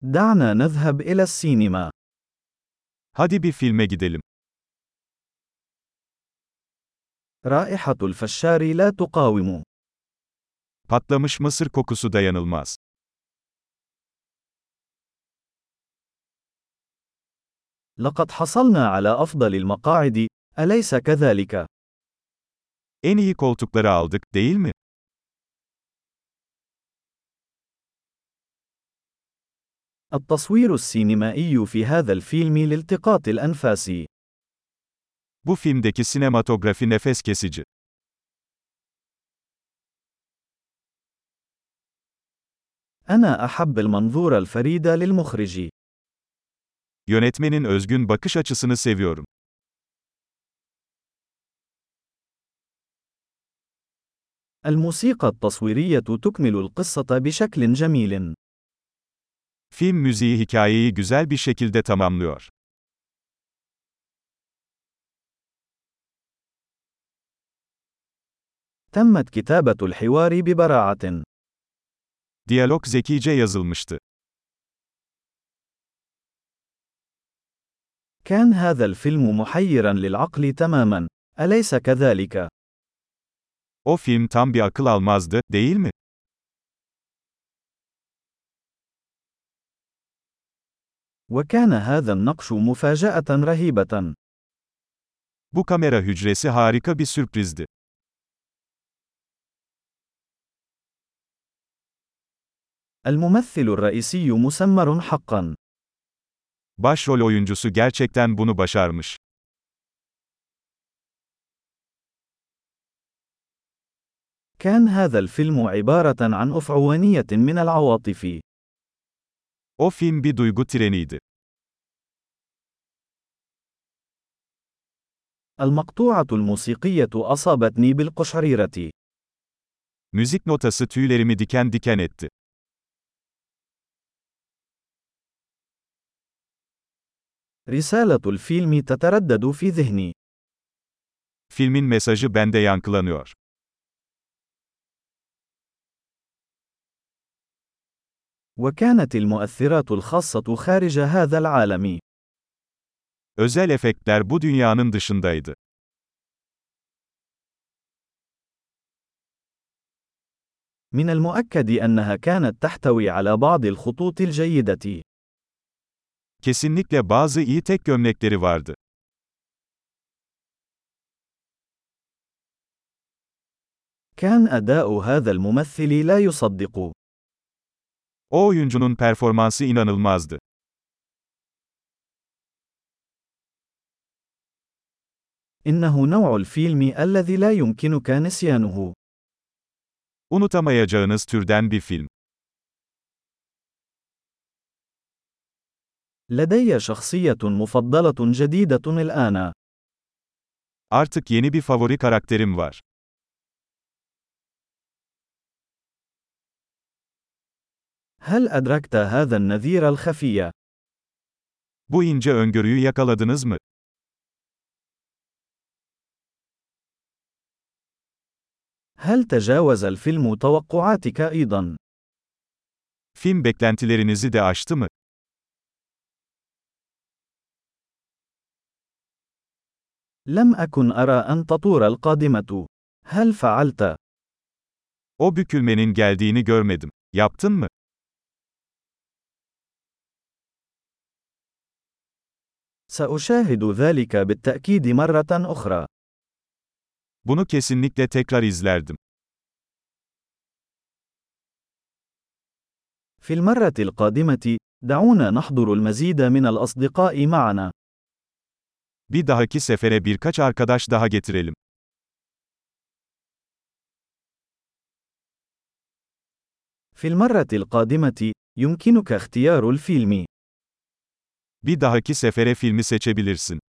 دعنا نذهب إلى السينما. Hadi bir filme gidelim. رائحة الفشار لا تقاوم. Patlamış mısır kokusu dayanılmaz. لقد حصلنا على أفضل المقاعد، أليس كذلك؟ En iyi koltukları aldık, değil mi? التصوير السينمائي في هذا الفيلم لالتقاط الأنفاس. Bu filmdeki sinematografi nefes kesici. أنا أحب المنظور الفريد للمخرج. Yönetmenin özgün bakış açısını seviyorum. الموسيقى التصويرية تكمل القصة بشكل جميل. Film müziği hikayeyi güzel bir şekilde tamamlıyor. تمت كتابة الحوار ببراعة. Diyalog zekice yazılmıştı. كان هذا الفيلم محيرا للعقل تماما، أليس كذلك؟ O film tam bir akıl almazdı, değil mi? وكان هذا النقش مفاجأة رهيبة. Bu kamera hücresi harika bir sürprizdi. الممثل الرئيسي مسمر حقا. Başrol oyuncusu gerçekten bunu başarmış. كان هذا الفيلم عبارة عن أفعوانية من العواطف. O film bir duygu treniydi. المقطوعة الموسيقية أصابتني بالقشعريرة. Müzik notası tüylerimi diken diken etti. رسالة الفيلم تتردد في ذهني. Filmin mesajı bende yankılanıyor. وكانت المؤثرات الخاصة خارج هذا العالم. Özel efektler bu dünyanın dışındaydı. من المؤكد أنها كانت تحتوي على بعض الخطوط الجيدة. Kesinlikle bazı iyi tek gömlekleri vardı. كان أداء هذا الممثل لا يصدق. O oyuncunun performansı inanılmazdı. إنه نوع الفيلم الذي لا يمكنك نسيانه. Unutamayacağınız türden bir film. لدي شخصية مفضلة جديدة الآن. Artık yeni bir favori karakterim var. هل أدركت هذا النذير الخفي؟ Bu ince öngörüyü yakaladınız mı? هل تجاوز الفيلم توقعاتك أيضا؟ Film beklentilerinizi de aştı mı? لم أكن أرى أن تطور القادمة. هل فعلت؟ O bükülmenin geldiğini görmedim. Yaptın mı? سأشاهد ذلك بالتأكيد مرة أخرى. Bunu kesinlikle tekrar izlerdim. في المرة القادمة، دعونا نحضر المزيد من الأصدقاء معنا. Bir dahaki sefere birkaç arkadaş daha getirelim. في المرة القادمة، يمكنك اختيار الفيلم. Bir dahaki sefere filmi seçebilirsin.